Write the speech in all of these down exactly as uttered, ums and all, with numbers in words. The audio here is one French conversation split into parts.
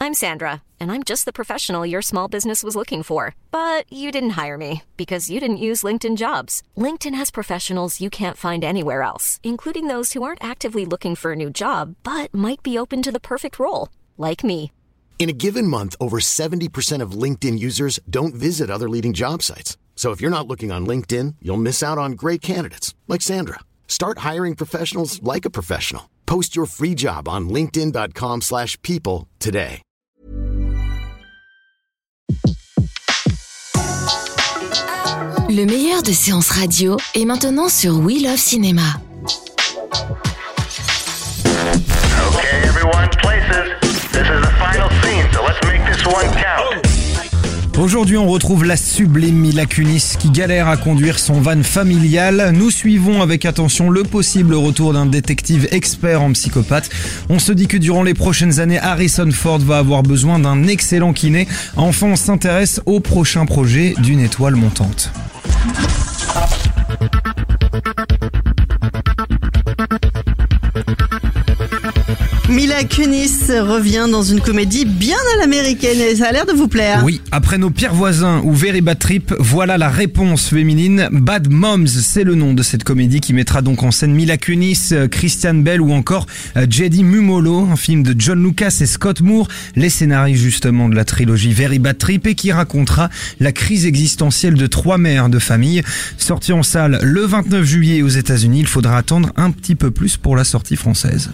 I'm Sandra, and I'm just the professional your small business was looking for. But you didn't hire me because you didn't use LinkedIn Jobs. LinkedIn has professionals you can't find anywhere else, including those who aren't actively looking for a new job, but might be open to the perfect role, like me. In a given month, over seventy percent of LinkedIn users don't visit other leading job sites. So if you're not looking on LinkedIn, you'll miss out on great candidates, like Sandra. Start hiring professionals like a professional. Post your free job on linkedin.com slash people today. Le meilleur de séances radio est maintenant sur We Love Cinéma. Okay, everyone, places. This is the final scene, so let's make this one count. Aujourd'hui, on retrouve la sublime Mila Kunis qui galère à conduire son van familial. Nous suivons avec attention le possible retour d'un détective expert en psychopathe. On se dit que durant les prochaines années, Harrison Ford va avoir besoin d'un excellent kiné. Enfin, on s'intéresse au prochain projet d'une étoile montante. Mila Kunis revient dans une comédie bien à l'américaine et ça a l'air de vous plaire. Oui, après Nos pires voisins ou Very Bad Trip, voilà la réponse féminine. Bad Moms, c'est le nom de cette comédie qui mettra donc en scène Mila Kunis, Christian Bale ou encore Jedi Mumolo, un film de John Lucas et Scott Moore, les scénaristes justement de la trilogie Very Bad Trip et qui racontera la crise existentielle de trois mères de famille. Sortie en salle le vingt-neuf juillet aux États-Unis, il faudra attendre un petit peu plus pour la sortie française.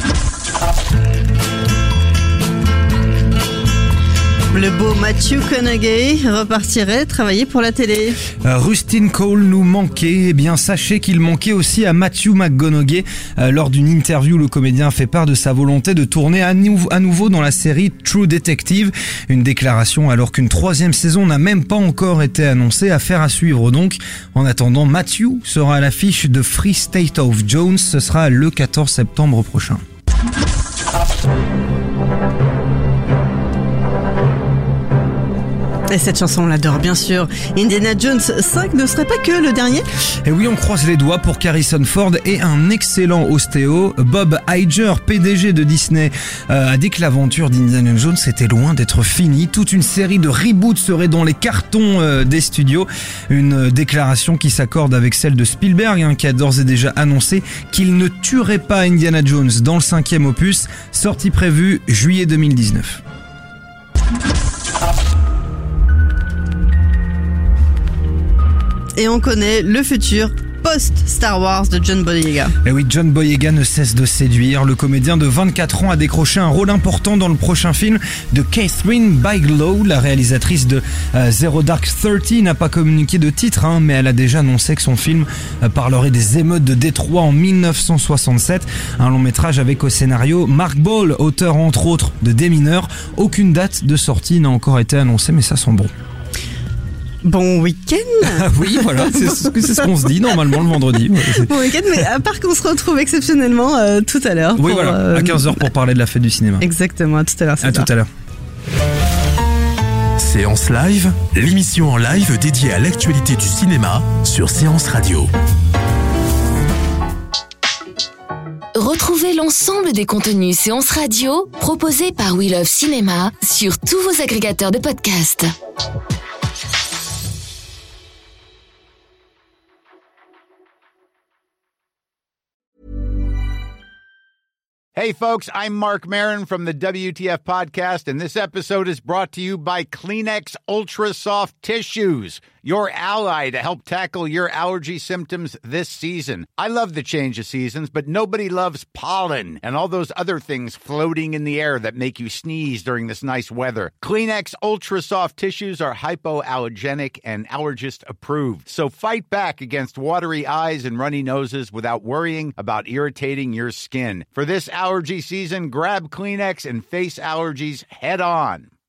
Le beau Matthew McConaughey repartirait travailler pour la télé. Euh, Rustin Cole nous manquait. Eh bien, sachez qu'il manquait aussi à Matthew McConaughey. Euh, lors d'une interview, le comédien a fait part de sa volonté de tourner à, nou- à nouveau dans la série True Detective. Une déclaration alors qu'une troisième saison n'a même pas encore été annoncée. Affaire à suivre donc. En attendant, Matthew sera à l'affiche de Free State of Jones. Ce sera le quatorze septembre prochain. Et cette chanson, on l'adore bien sûr. Indiana Jones cinq ne serait pas que le dernier. Et oui, on croise les doigts pour qu'Harrison Ford ait un excellent ostéo. Bob Iger, P D G de Disney, euh, a dit que l'aventure d'Indiana Jones était loin d'être finie. Toute une série de reboots serait dans les cartons euh, des studios. Une déclaration qui s'accorde avec celle de Spielberg, hein, qui a d'ores et déjà annoncé qu'il ne tuerait pas Indiana Jones dans le cinquième opus, sortie prévue juillet deux mille dix-neuf. Et on connaît le futur post-Star Wars de John Boyega. Et oui, John Boyega ne cesse de séduire. Le comédien de vingt-quatre ans a décroché un rôle important dans le prochain film de Catherine Bigelow. La réalisatrice de euh, Zero Dark Thirty n'a pas communiqué de titre, hein, mais elle a déjà annoncé que son film euh, parlerait des émeutes de Détroit en dix-neuf cent soixante-sept. Un long métrage avec au scénario Mark Ball, auteur entre autres de Des mineurs. Aucune date de sortie n'a encore été annoncée, mais ça sent bon. Bon week-end. Oui, voilà, c'est ce, c'est ce qu'on se dit normalement le vendredi. Bon week-end, mais à part qu'on se retrouve exceptionnellement euh, tout à l'heure. Oui, pour, voilà, euh, à quinze heures pour parler de la fête du cinéma. Exactement, à tout à l'heure. À tout à l'heure. Séance Live, l'émission en live dédiée à l'actualité du cinéma sur Séance Radio. Retrouvez l'ensemble des contenus Séance Radio proposés par We Love Cinéma sur tous vos agrégateurs de podcasts. Hey, folks, I'm Mark Maron from the W T F Podcast, and this episode is brought to you by Kleenex Ultra Soft Tissues, your ally to help tackle your allergy symptoms this season. I love the change of seasons, but nobody loves pollen and all those other things floating in the air that make you sneeze during this nice weather. Kleenex Ultra Soft Tissues are hypoallergenic and allergist approved, so fight back against watery eyes and runny noses without worrying about irritating your skin. For this allergy season, grab Kleenex and face allergies head on.